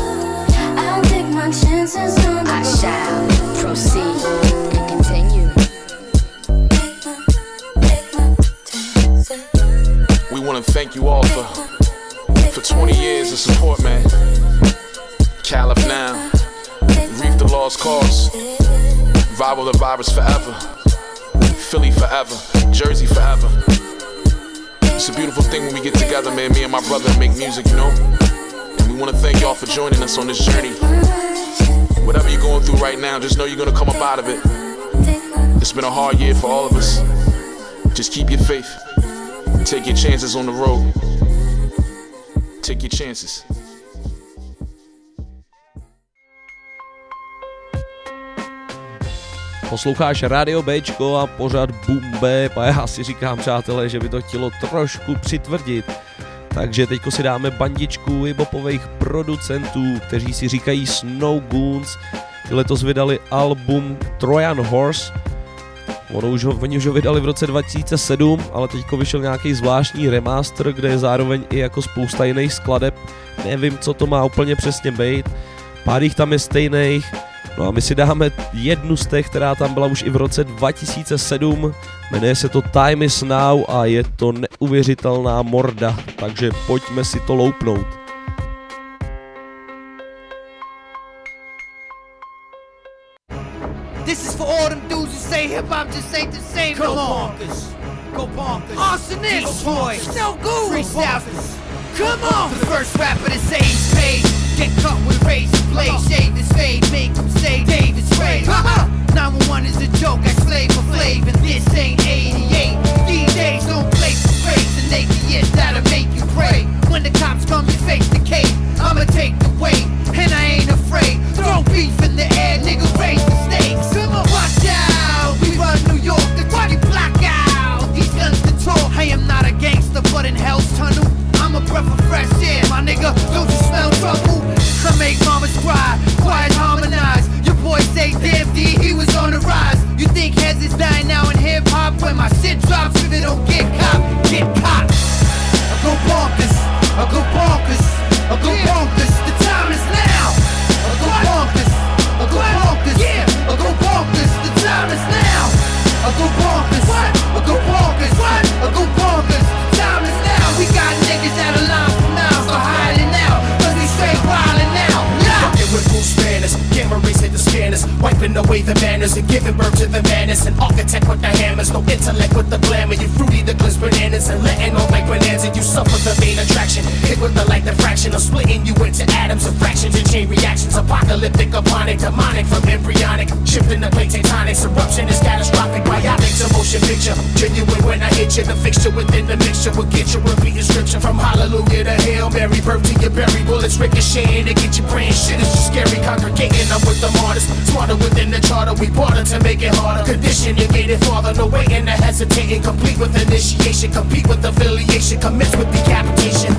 I'll take my chances on I shall proceed. And continue. We want to thank you all for 20 years of support, man. Caliph now, reap the lost cause. Survival of the virus forever. Philly forever. Jersey forever. It's a beautiful thing when we get together, man. Me and my brother make music, you know. And we want to thank y'all for joining us on this journey. Whatever you're going through right now, just know you're going to come up out of it. It's been a hard year for all of us. Just keep your faith. Take your chances on the road. Take your chances. Posloucháš Radio Bčko a pořad Boom Bap a já si říkám, přátelé, že by to chtělo trošku přitvrdit. Takže teďko si dáme bandičku hiphopových producentů, kteří si říkají Snow Goons. Ty letos vydali album Trojan Horse. Oni už ho vydali v roce 2007, ale teďko vyšel nějaký zvláštní remaster, kde je zároveň i jako spousta jiných skladeb. Nevím, co to má úplně přesně být. Pár jich tam je stejných. No a my si dáme jednu z těch, která tam byla už i v roce 2007. Jmenuje se to Time is Now a je to neuvěřitelná morda. Takže pojďme si to loupnout. This is for all them dudes who say hip-hop just ain't the same no more. Go bonkers. Arsonist. Destroy. Snow Goons. Freestyles. Come on. The first rapper to say he's paid. Get cut with razor blade. Shave his fade. Make him say David's Ray. 911 is a joke. I slave for Flav. And this ain't 88. These days don't play for praise. And they the years that'll make you pray. When the cops come, you face the cave. I'ma take the weight. And I ain't afraid. Throw beef in the air. Nigga, raise the stakes. Come on, watch out. We run New York. The party black out. These guns to talk. I am not a gangster, but in Hell's Tunnel, I'm a breath of fresh air. My nigga, don't you smell trouble? I make mamas cry, quiet harmonize. Your boy say, damn D, he was on the rise. You think heads is dying now in hip hop? When my shit drops, if it don't get caught, get caught. I go bonkers, I go bonkers, I go bonkers. The time is now. I go bonkers, I go bonkers, I go bonkers. The time is now. I go bonkers, I go bonkers, I go bonkers. The time is now. We got niggas that are lying for now, so hiding out, cause we straight wildin' now. Fucking with Bruce Banners, gamma rays hit the scanners, wiping away the manners and giving birth to the madness. An architect with the hammers, no intellect with the glamour. You fruity the glitz bananas and letting off like bananas. You suffer the main attraction, hit with the light diffraction. I'm splitting you into atoms and fractions and chain reactions. Apocalyptic, aponic, demonic from embryonic, shifting the plate tectonics. Eruption is catastrophic, biotic to motion picture. Genuine when I hit you, the fixture within the mixture will get you repeating scripture from hallelujah to Hail Mary. Birth to your berry, bullets ricocheting to get you praying. Shit is just scary, congregating up with the martyrs. Smarter within the charter, we barter to make it harder. Condition your gated father, no waiting to hesitating. Complete with initiation, compete with affiliation, commits with decapitation.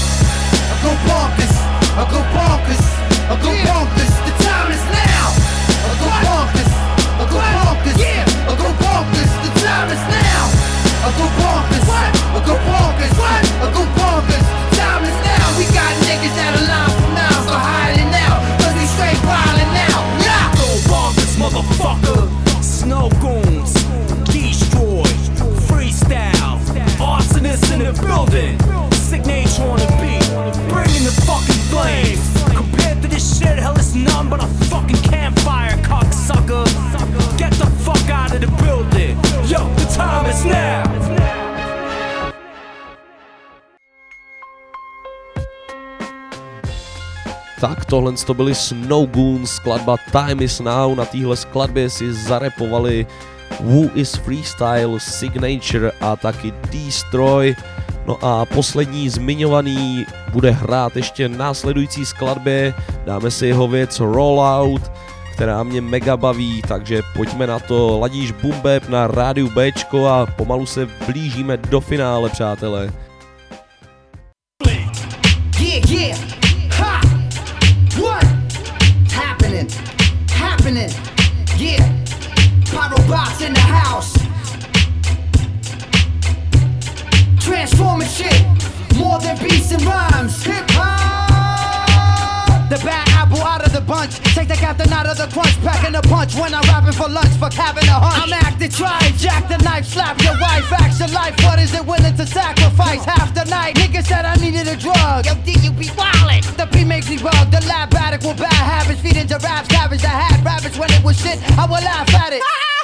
I go bonkers, I go bonkers, I go bonkers. The time is now. I go bonkers, I go bonkers, I go bonkers. The time is now. I go bonkers, I go bonkers, I go bonkers. The time is now. We got niggas that are lying for now, so hiding now, cause we straight wildin' now. Yeah. Go bonkers, motherfucker. Snow Goons, destroy, freestyle, arsonists in the building. Signature on the beat, bringing the fucking flames. Compared to this shit, hell is none but a fucking campfire, cocksucker. Get the fuck out of the building. Yo, the time is now. Tak tohle to byly Snow Goons, skladba Time is Now. Na téhle skladbě si zarepovali Who is Freestyle, Signature a taky Destroy. No a poslední zmiňovaný bude hrát ještě následující skladbě. Dáme si jeho věc Rollout, která mě mega baví, takže pojďme na to. Ladíš Boom Bap na rádiu Bčko a pomalu se blížíme do finále, přátelé. Yeah. Ha! What? Happening. Yeah. Pyrobots in the house. Transforming shit. More than beats and rhymes. Hip hop. The bad apple out of the bunch. Take the captain out of the crunch. Packing a punch when I'm rapping for lunch. Fuck having a hunch. I'm acting, try, jack the knife, slap your wife. Action life, what is it willing to sacrifice? Half the night, nigga said I needed a drug. Yo, D, you be wildin'. The beat makes me bug. The lab addict with bad habits. Feed into raps, cabbage. I had rabbits years when it was shit, I will laugh at it.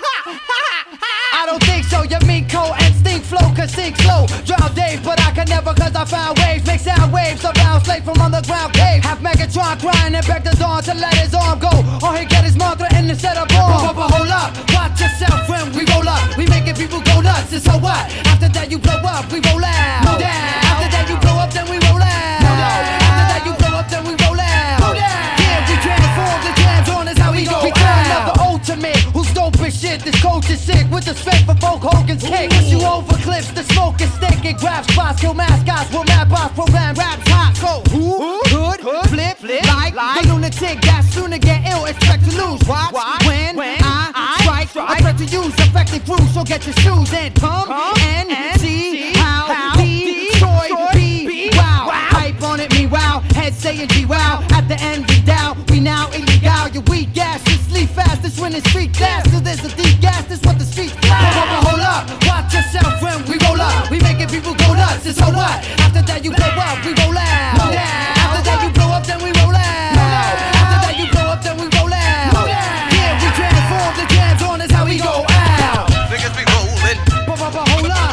I don't think so, you mean cold and stink flow can sink slow. Drown Dave, but I can never cause I found waves. Make sound waves around slave from underground cave. Have Megatron crying and beg the dawn to let his arm go. All he get is mantra in the set of bomb. But hold up, watch yourself when we roll up. We making people go nuts, and so what? After that you blow up, we roll out. No down. After that you blow up, then we roll out. No down. After that you blow up, then we roll out. No down. Yeah, we transform, the jams on is how we go. We turn up the ultimate, who's dope as shit. This coach is sick with the strength for Hulk Hogan's kick. Push you over cliffs, the smoke is thick. It grabs spots, kill mascots. We'll mad boss, program raps hot. So who could flip like the lunatic that sooner get ill? Expect to lose. Watch when I strike. I try to use effective grooves, so get your shoes and come and see how Detroit be. Wow, hype on it, me wow. Head saying G wow. At the end we down, we now illegal. You weak gas, you sleep fast. This when it's street gas. So there's a deep gas. This what the streets blast. Hold up, watch yourself when we roll up. We making people go nuts. And so what? After that you blow up, we roll out. After that you blow up, then we roll out. After that you blow up, then we roll out. Yeah, we transform, the jams on is how we go out. Niggas be rolling. Hold up.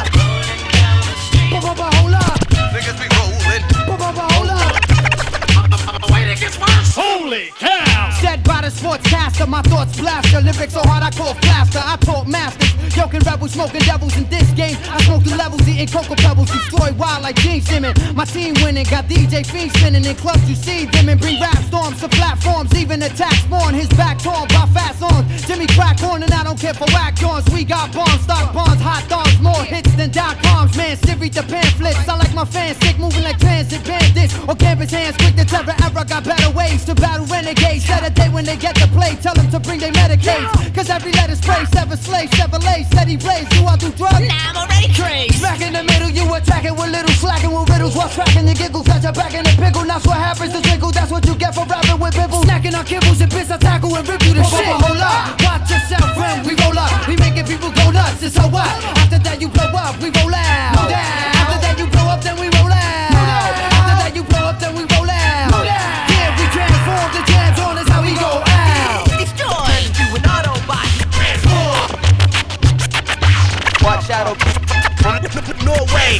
Hold up. Niggas be rolling. Hold up. Wait, it gets worse. Holy cow! Said by the sportscaster, my thoughts blaster. Lyrics so hard I call faster. I taught masters. Joking rebels, smoking devils in this game. I smoke the levels, eating cocoa pebbles. Destroy wild like Gene Simmons. My team winning, got DJ Fiend spinning in clubs. You see them and bring rap storms to platforms. Even attack spawn, his back torn by fast songs. Jimmy crack on and I don't care for whack joints. We got bombs, stock bonds, hot dogs, more hits than .coms. Man, Siri the pamphlets. I like my fans sick, moving like transit bandits. Or campus hands, quick to terror era. Got better ways to battle renegades. Set a day when they get the play. Tell them to bring their Medicaid. Cause every letter spray, sever slave, Chevrolet, steady blaze. Do I do drugs? Nah, I'm already crazy. Smack in the middle, you attacking with little slacking with riddles. While tracking your giggles, got your back in the pickle. That's what happens to twinkle. That's what you get for rapping with bibbles. Snacking on kibbles and bits, I tackle and rip you to shit. Hold up, watch yourself when we roll up. We making people go nuts, and so what? After that you blow up, we roll out. After that you blow up, then we roll out. After that you blow up, then we roll out. Yeah, we transform, the jams on is how we go out. Destroy you an Autobot. Transform. Watch out, from Norway.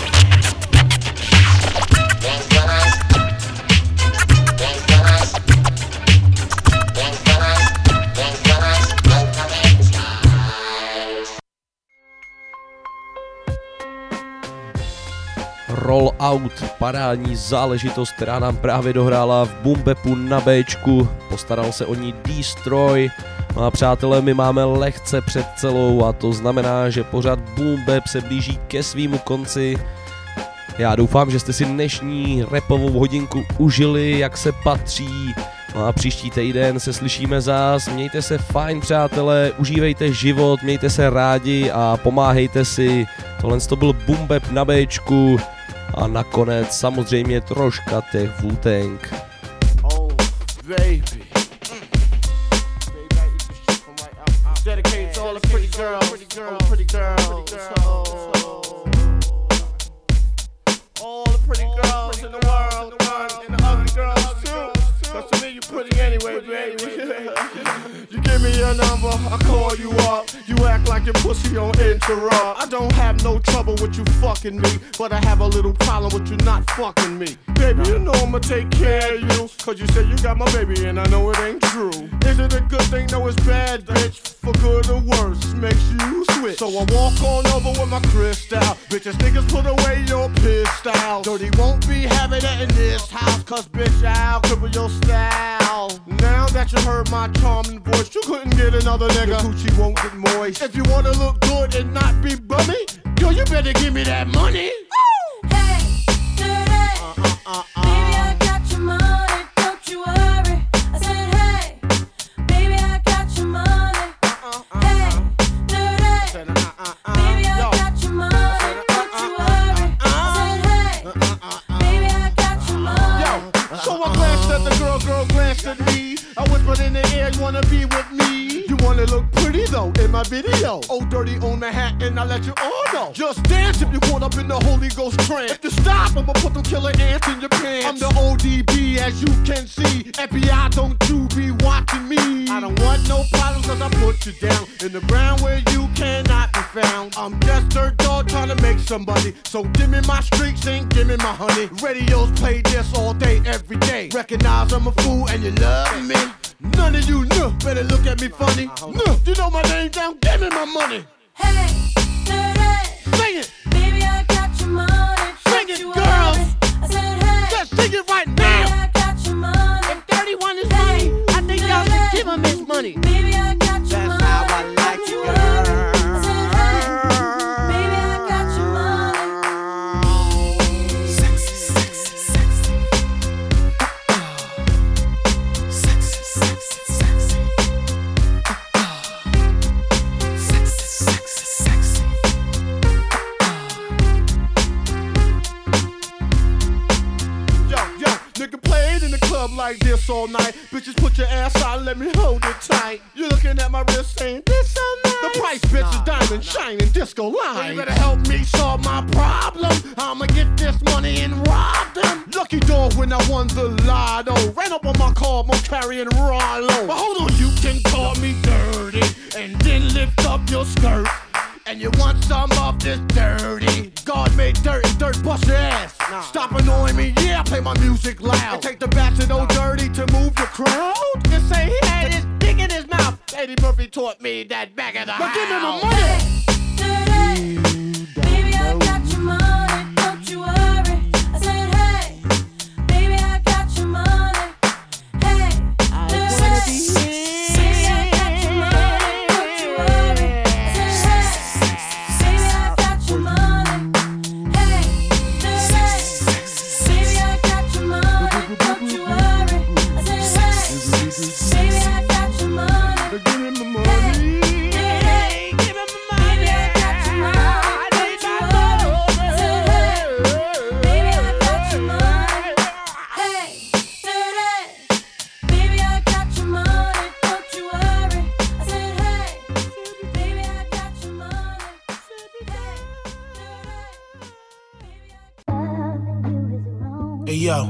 Roll Out, parádní záležitost, která nám právě dohrála v Boom Bapu na Bčku, postaral se o ní Destroy. No a přátelé, my máme lehce před celou a to znamená, že pořád Boom Bap se blíží ke svýmu konci. Já doufám, že jste si dnešní rapovou hodinku užili, jak se patří. No a příští týden se slyšíme zás, mějte se fajn přátelé, užívejte život, mějte se rádi a pomáhejte si. Tohle to byl Boom Bap na Bčku a nakonec samozřejmě troška těch Wu-Tang. Oh, baby. Dedicated to all the pretty girls, all the pretty girls in the world, and the ugly girls too. Cause to me you pretty anyway, baby. You give me your number, I call you up. You act like your pussy on interrupt. I don't have no trouble with you fucking me, but I have a little problem with you not fucking me. Baby, you know I'ma take care of you, cause you say you got my baby and I know it ain't true. Is it a good thing? No, it's bad, bitch. For good or worse, makes you switch. So I walk on over with my crystal. Bitches, niggas, put away your pistol. Dirty won't be having that in this house, cause bitch, I'll cripple your style. Now that you heard my charming voice, you couldn't get another nigga. Your coochie won't get moist. If you wanna look good and not be bummy, girl, you better give me that money. Hey, dirty. Baby, I got your money, don't you worry. I said, hey, baby, I got your money. Hey, dirty. Baby, I got your money, don't you worry. I said, hey, baby, I got your money. Yo, so I'm glad said the girl glanced at me. I whispered in the air, you wanna be with me? You wanna look pretty though in my video. Oh, dirty on Manhattan, I let you all know. Just dance if you caught up in the Holy Ghost trance. If you stop, I'ma put them killer ants in your pants. I'm the ODB, as you can see. FBI, don't you be watching me. I don't want no problems, cause I put you down in the ground where you cannot be found. I'm just dirt dog trying to make somebody. So give me my streaks and give me my honey. Radios play this all day, every day. Recognize I'm a fool and you love me. None of you better look at me funny. You know my name down, give me my money. Hey, sing it. Baby, I got your money. Sing it, girls. I said, hey, just sing it right now. Baby, I got your money. If 31 is money, I think y'all should give him his money. Baby, I got your That's money. how I like you, girl. I said, hey, baby, I got your money. Sexy, sexy, sexy. Sexy, sexy, sexy. Sexy, sexy, sexy. Yo, nigga played in the club like this all night. Bitches put your ass out and let me hold it tight. You looking at my wrist saying, this so nice. The price, bitch, is diamond shining disco line. You better help me solve my problem. I'ma get this money and rob them. Lucky dog when I won the lotto. Ran up on my car, I'm carrying Rollo. But hold on, you can call me dirty and then lift up your skirt. And you want some of this dirty? God made dirt and dirt bust your ass. Stop annoying me, yeah, I play my music loud. And take the bats and old dirty to move the crowd. Just say he had his dick in his mouth. Eddie Murphy taught me that back of the house. But give me my money. Baby, I got your money. Don't you worry. I said, hey, baby, I got your money. Hey, baby, I got your money. Don't you worry. I said, hey, baby, I got your money. Hey, baby, I got your money. Don't you worry. I said, hey, baby, I got your money. Give me my money. Hey, give me my money. Baby, I got your money. Don't you worry. I said, hey, baby, I got your money. Hey, baby, I got your money. Don't you worry. I said, hey, baby, I got your money. Hey yo,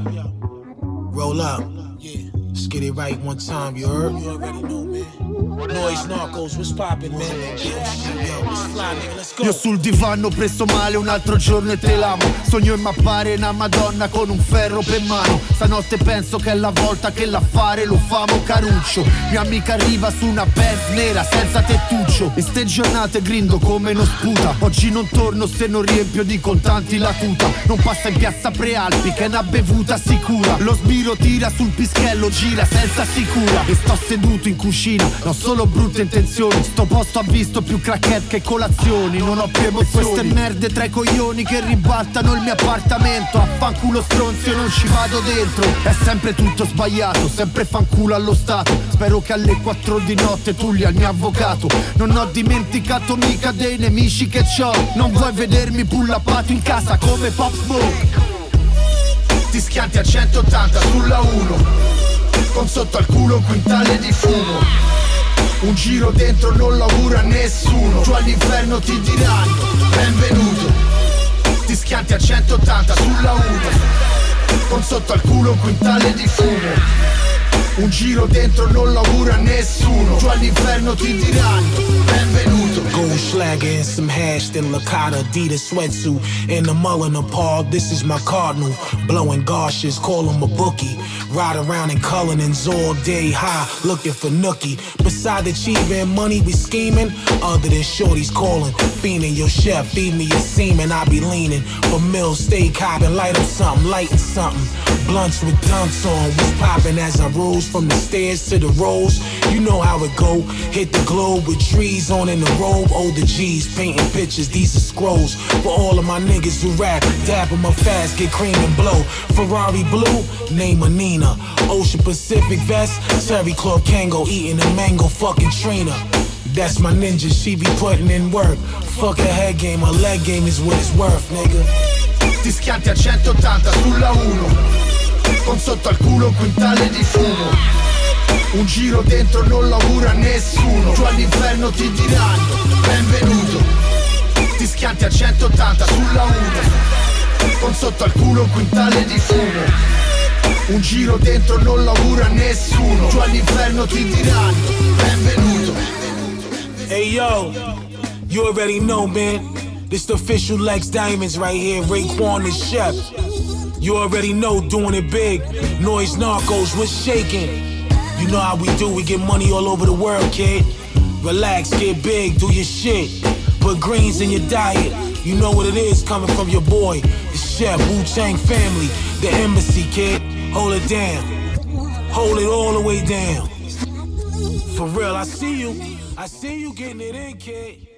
roll up. Yeah, let's get it right one time, you heard? You already know, man. Noise Narcos, what's poppin', man? Yo, let's fly, nigga, let's go. Io sul divano preso male un altro giorno e te l'amo. Sogno in mappare una madonna con un ferro per mano. Stanotte penso che è la volta che l'affare lo famo caruccio. Mia amica arriva su una Benz nera senza tettuccio. E ste giornate grindo come non sputa. Oggi non torno se non riempio di contanti la tuta. Non passa in piazza Prealpi che è una bevuta sicura. Lo sbiro tira sul pischello, gira senza sicura. E sto seduto in cucina, non solo brutte intenzioni. Sto posto ha visto più crackhead che colazioni. Non ho più emozioni. Queste merde tra i coglioni che ribaltano il mio appartamento. A fanculo stronzio non ci vado dentro. È sempre tutto sbagliato, sempre fanculo allo Stato. Spero che alle 4 di notte tu li al mio avvocato. Non ho dimenticato mica dei nemici che c'ho. Non vuoi vedermi pullappato in casa come Pop Smoke. Ti schianti a 180 sulla 1, con sotto al culo un quintale di fumo. Un giro dentro non lo auguro a nessuno. Giù all'inferno ti diranno benvenuto. Ti schianti a 180 sulla 1, con sotto al culo un quintale di fumo. Un giro dentro non lo auguro a nessuno. Giù all'inferno ti diranno benvenuto. Gold Schlager and some hash, then Lakata, Adidas sweatsuit, and the Mullen Paul. This is my cardinal, blowing gaushes, call him a bookie. Ride around in Cullinans all day high, looking for nookie. Beside achieving money, we scheming. Other than shorties calling, fiending your chef, feed me your semen. I be leaning for meals, steak hopping, light up something, lighting something. Blunts with dunks on, was popping as I rose from the stairs to the rows. You know how it go. Hit the globe with trees on in the robe. Older G's painting pictures, these are scrolls. For all of my niggas who rap, dap 'em up fast, get cream and blow. Ferrari blue, name a Nina. Ocean Pacific vest, Terry Club Kango eating a mango fucking Trina. That's my ninja, she be putting in work. Fuck her head game, her leg game is what it's worth, nigga. Ti schianti a 180 sulla 1, con sotto al culo un quintale di fumo. Un giro dentro non lo augura a nessuno. Giù all'inferno ti diranno benvenuto. Ti schianti a 180 sulla uta, con sotto al culo un quintale di fumo. Un giro dentro non lo augura a nessuno. Giù all'inferno ti diranno benvenuto. Hey yo, you already know, man. This the official Lex Diamonds right here, Raekwon the Chef. You already know, doing it big. Noise Narcos, what's shaking? You know how we do, we get money all over the world, kid. Relax, get big, do your shit. Put greens in your diet. You know what it is coming from your boy, the Chef, Wu-Tang family, the embassy, kid. Hold it down. Hold it all the way down. For real, I see you getting it in, kid.